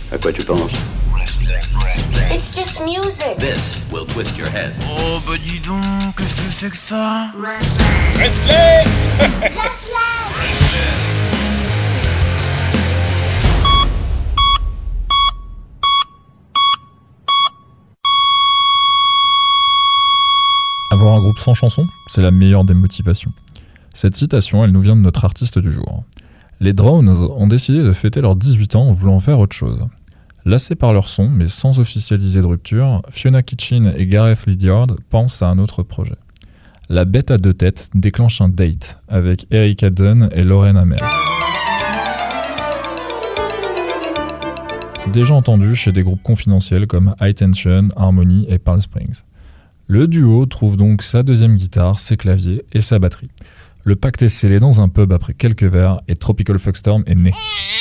À quoi tu penses? It's just music. This will twist your head. Oh bah dis donc, qu'est-ce que c'est que ça? Restless. Avoir un groupe sans chanson, c'est la meilleure des motivations. Cette citation, elle nous vient de notre artiste du jour. Les Drones ont décidé de fêter leurs 18 ans en voulant faire autre chose. Lassés par leur son, mais sans officialiser de rupture, Fiona Kitchen et Gareth Lydiard pensent à un autre projet. La bête à deux têtes déclenche un date avec Erika Dunn et Lauren Hammer. Déjà entendu chez des groupes confidentiels comme High Tension, Harmony et Palm Springs. Le duo trouve donc sa deuxième guitare, ses claviers et sa batterie. Le pacte est scellé dans un pub après quelques verres et Tropical Fuckstorm est né.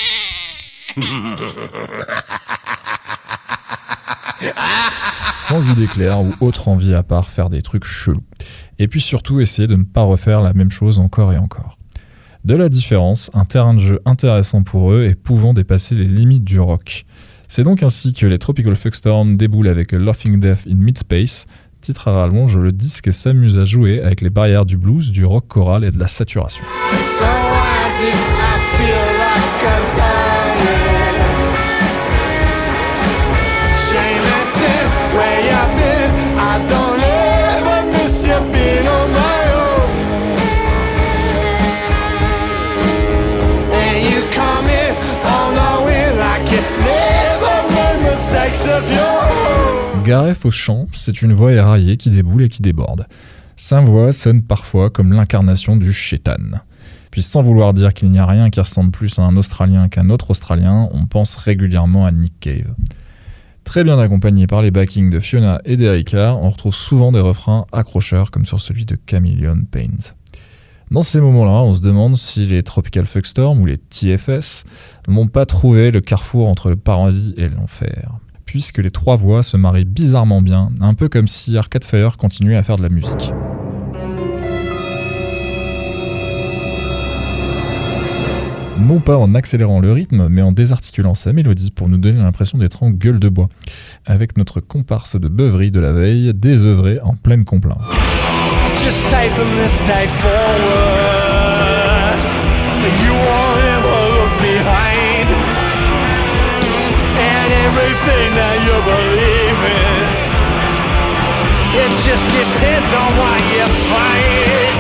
Sans idée claire ou autre envie à part faire des trucs chelous. Et puis surtout essayer de ne pas refaire la même chose encore et encore. De la différence, un terrain de jeu intéressant pour eux et pouvant dépasser les limites du rock. C'est donc ainsi que les Tropical Fuckstorm déboulent avec A Laughing Death in Midspace. Titre à rallonge, le disque s'amuse à jouer avec les barrières du blues, du rock choral et de la saturation. Gareth au chant, c'est une voix éraillée qui déboule et qui déborde. Sa voix sonne parfois comme l'incarnation du Shaitan. Puis sans vouloir dire qu'il n'y a rien qui ressemble plus à un Australien qu'un autre Australien, on pense régulièrement à Nick Cave. Très bien accompagné par les backings de Fiona et d'Erika, on retrouve souvent des refrains accrocheurs comme sur celui de Chameleon Paint. Dans ces moments-là, on se demande si les Tropical Fuckstorm ou les TFS n'ont pas trouvé le carrefour entre le paradis et l'enfer. Puisque les trois voix se marient bizarrement bien, un peu comme si Arcade Fire continuait à faire de la musique. Non pas en accélérant le rythme, mais en désarticulant sa mélodie pour nous donner l'impression d'être en gueule de bois, avec notre comparse de beuverie de la veille désœuvré en pleine complainte. Just say from this day forward, you won't ever look behind, and everything that you believe in, it just depends on what you find.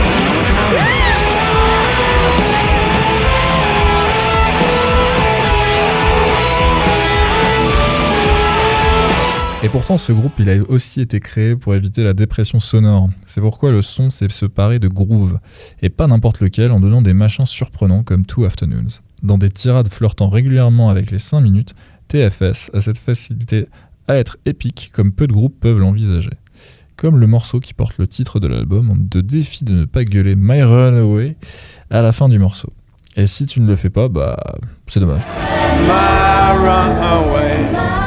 Et pourtant, ce groupe, il a aussi été créé pour éviter la dépression sonore. C'est pourquoi le son sait se parer de groove, et pas n'importe lequel, en donnant des machins surprenants comme Two Afternoons. Dans des tirades flirtant régulièrement avec les 5 minutes, TFS a cette facilité à être épique comme peu de groupes peuvent l'envisager. Comme le morceau qui porte le titre de l'album, on te défie de ne pas gueuler My Runaway à la fin du morceau. Et si tu ne le fais pas, bah c'est dommage. My runaway.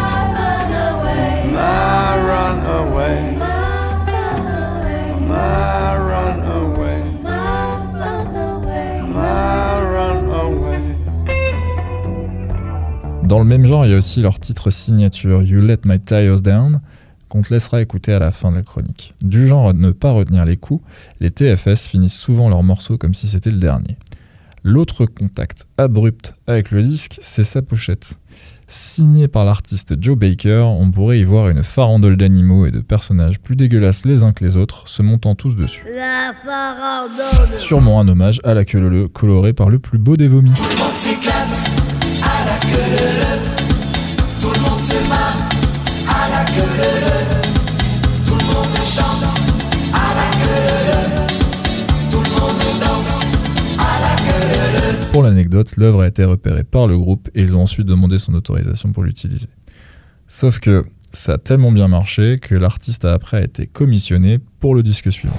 Dans le même genre, il y a aussi leur titre signature You Let My Tires Down, qu'on te laissera écouter à la fin de la chronique. Du genre à ne pas retenir les coups, les TFS finissent souvent leurs morceaux comme si c'était le dernier. L'autre contact abrupt avec le disque, c'est sa pochette. Signée par l'artiste Joe Baker, on pourrait y voir une farandole d'animaux et de personnages plus dégueulasses les uns que les autres, se montant tous dessus. La farandole. Sûrement un hommage à la queue leu colorée par le plus beau des vomis. Tout le monde s'éclate à la queue leu. Tout le monde se marre à la queue leu. Tout le monde chante à la queue leu. Tout le monde danse à la queue leu. Pour l'anecdote, l'œuvre a été repérée par le groupe et ils ont ensuite demandé son autorisation pour l'utiliser. Sauf que ça a tellement bien marché que l'artiste a après été commissionné pour le disque suivant.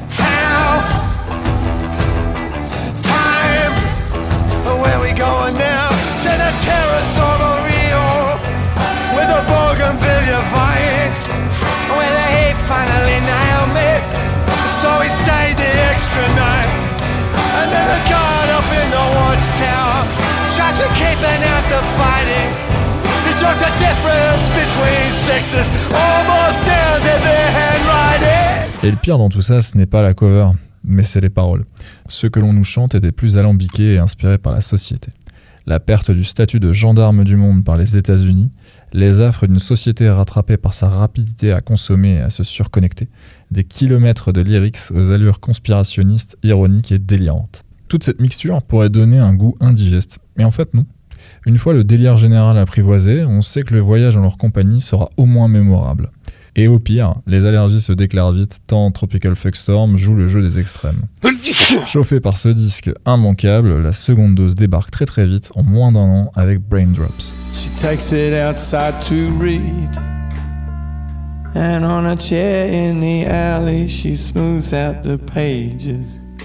Just keeping out the fighting. He judge the difference between sexes, almost down to their handwriting. Et le pire dans tout ça, ce n'est pas la cover, mais c'est les paroles. Ce que l'on nous chante étaient plus alambiqués et inspirés par la société. La perte du statut de gendarme du monde par les États-Unis, les affres d'une société rattrapée par sa rapidité à consommer et à se surconnecter, des kilomètres de lyrics aux allures conspirationnistes, ironiques et délirantes. Toute cette mixture pourrait donner un goût indigeste, mais en fait non. Une fois le délire général apprivoisé, on sait que le voyage en leur compagnie sera au moins mémorable. Et au pire, les allergies se déclarent vite tant Tropical Fuckstorm joue le jeu des extrêmes. Chauffé par ce disque immanquable, la seconde dose débarque très très vite, en moins d'un an, avec Braindrops. She takes it outside to read, and on a chair in the alley she smooths out the pages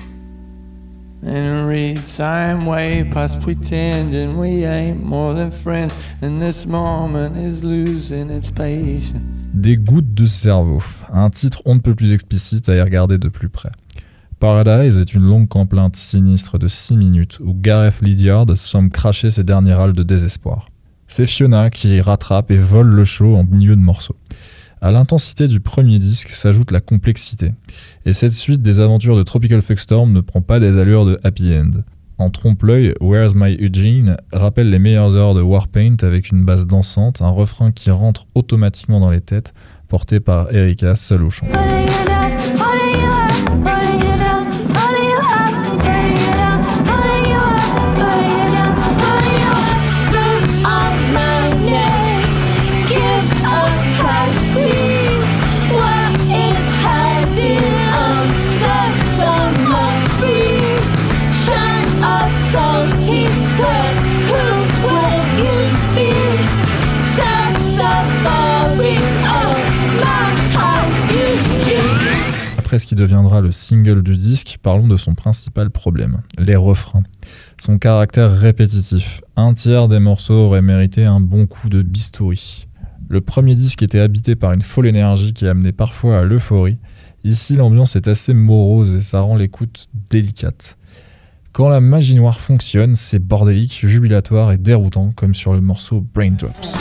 and reads, I'm way past pretending we ain't more than friends, and this moment is losing its patience. Des gouttes de cerveau, un titre on ne peut plus explicite à y regarder de plus près. Paradise est une longue complainte sinistre de 6 minutes où Gareth Lydiard semble cracher ses derniers râles de désespoir. C'est Fiona qui rattrape et vole le show en milieu de morceaux. À l'intensité du premier disque s'ajoute la complexité, et cette suite des aventures de Tropical Fuckstorm ne prend pas des allures de happy end. En trompe-l'œil, Where's My Eugene rappelle les meilleures heures de Warpaint avec une basse dansante, un refrain qui rentre automatiquement dans les têtes, porté par Erika seule au chant. Après ce qui deviendra le single du disque, parlons de son principal problème, les refrains. Son caractère répétitif. Un tiers des morceaux auraient mérité un bon coup de bistouri. Le premier disque était habité par une folle énergie qui amenait parfois à l'euphorie. Ici, l'ambiance est assez morose et ça rend l'écoute délicate. Quand la magie noire fonctionne, c'est bordélique, jubilatoire et déroutant, comme sur le morceau Braindrops.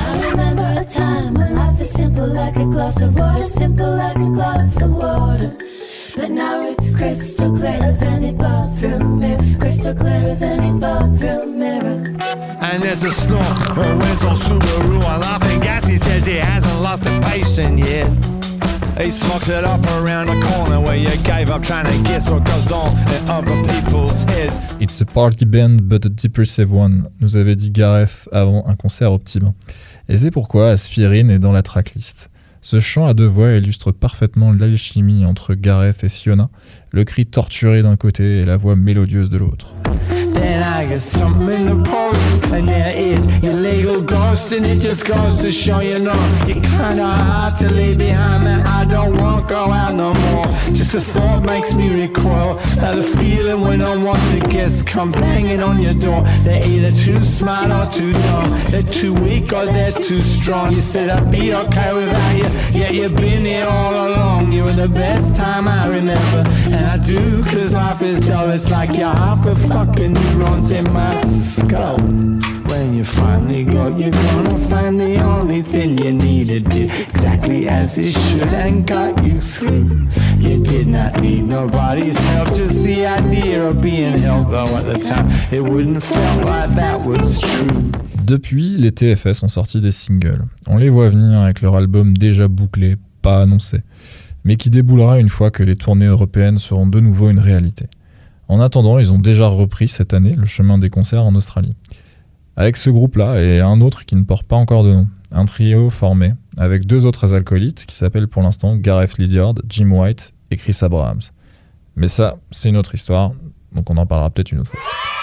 But now it's crystal clear as any bathroom mirror, crystal clear as any bathroom mirror. And there's a snort, a Winslow Subaru, a laughing gas, he says he hasn't lost a patient yet. He smokes it up around the corner where you gave up trying to guess what goes on in other people's heads. It's a party band but a depressive one, nous avait dit Gareth avant un concert au Petit Bain. Et c'est pourquoi Aspirine est dans la tracklist. Ce chant à deux voix illustre parfaitement l'alchimie entre Gareth et Fiona, le cri torturé d'un côté et la voix mélodieuse de l'autre. Then I get something in the post, and there is your legal ghost, and it just goes to show you know you're kinda hard to leave behind, man. I don't want to go out no more. Just a thought makes me recoil. How the feeling when unwanted guests come banging on your door. They're either too smart or too dumb. They're too weak or they're too strong. You said I'd be okay without you, yet you've been here all along. You were the best time I remember, and I do, cause life is dull. It's like you're half a fucking neurons in my skull. When you finally go, you're gonna find the only thing you needed did exactly as it should and got you through. You did not need nobody's help, just the idea of being helped, though at the time it wouldn't feel like that was true. Depuis, les TFS ont sorti des singles. On les voit venir avec leur album déjà bouclé, pas annoncé, mais qui déboulera une fois que les tournées européennes seront de nouveau une réalité. En attendant, ils ont déjà repris cette année le chemin des concerts en Australie. Avec ce groupe-là et un autre qui ne porte pas encore de nom, un trio formé avec deux autres acolytes qui s'appellent pour l'instant Gareth Lydiard, Jim White et Chris Abrahams. Mais ça, c'est une autre histoire, donc on en parlera peut-être une autre fois.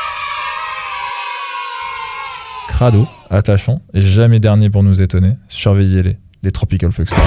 Crado, attachant et jamais dernier pour nous étonner, surveillez-les, les Tropical Fuckstorm.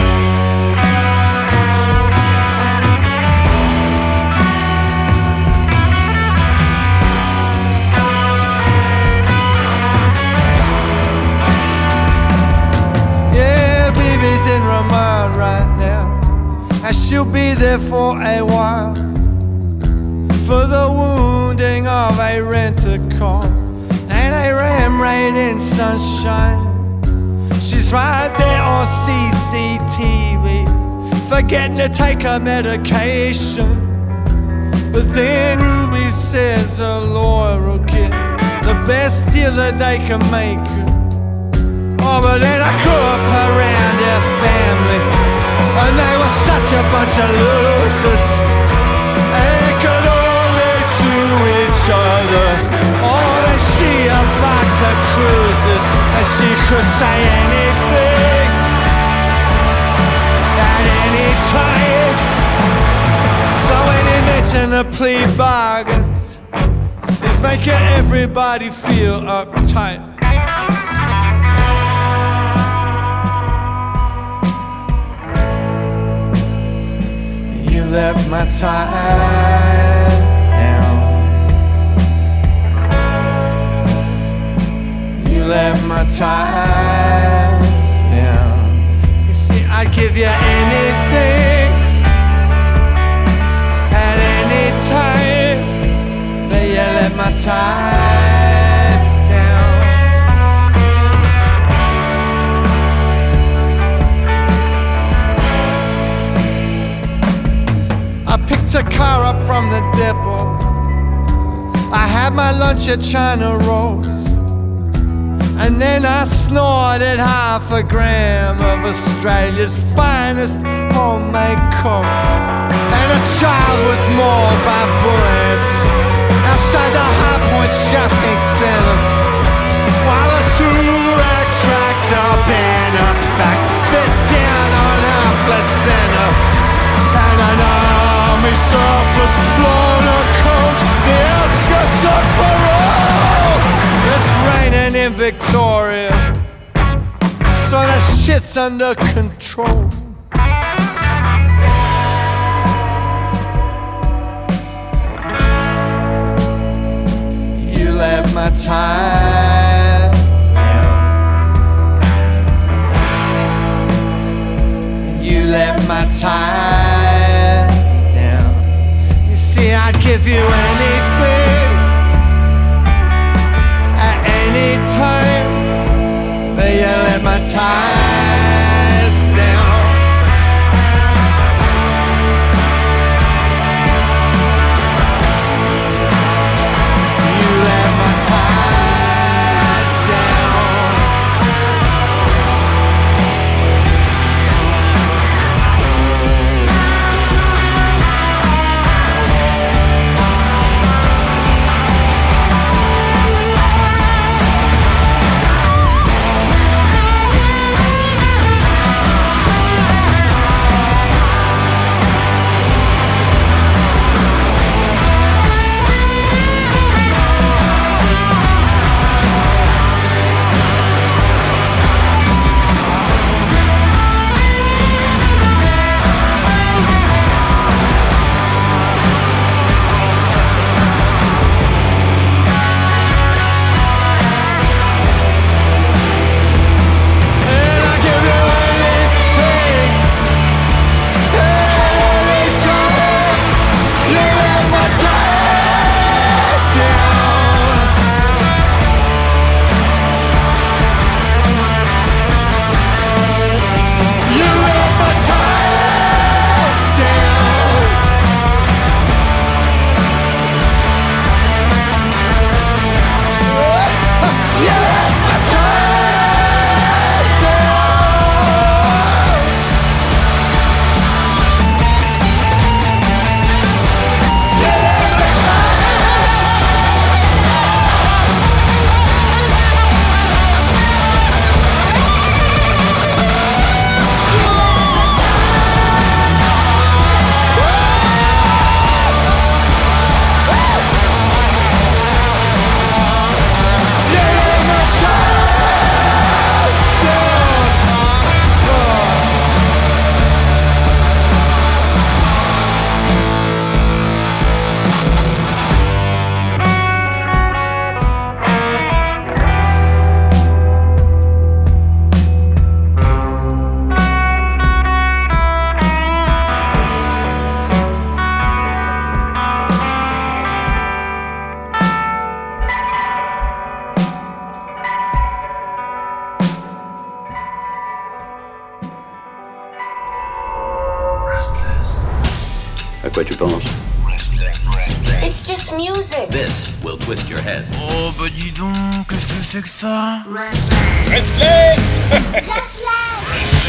She'll be there for a while, for the wounding of a rent-a-car and a ram raid in sunshine. She's right there on CCTV, forgetting to take her medication. But then Ruby says her lawyer will get the best deal that they can make. Oh, but then I grew up around their family, and they were such a bunch of losers. They could only do each other. Oh, they see her vodka cruises, and she could say anything at any time. So when you mention the plea bargains, it's making everybody feel uptight. You left my ties down. You left my ties down. You see, I'd give you anything at any time, but you left my ties down. I picked a car up from the depot. I had my lunch at China Rose, and then I snorted half a gram of Australia's finest homemade coke. And a child was mauled by bullets outside the High Point shopping center, while a two-rack tractor in effect bit down on our placenta. And an army surplus loader coat the outskirts of parole. It's raining in Victoria, so the shit's under control. You left my ties down. You left my ties down. You see, I'd give you anything at any time, but you left my ties down. You left my ties down. À quoi tu penses? It's just music. This will twist your head. Oh bah dis donc, qu'est-ce que c'est que ça? Restless. Restless.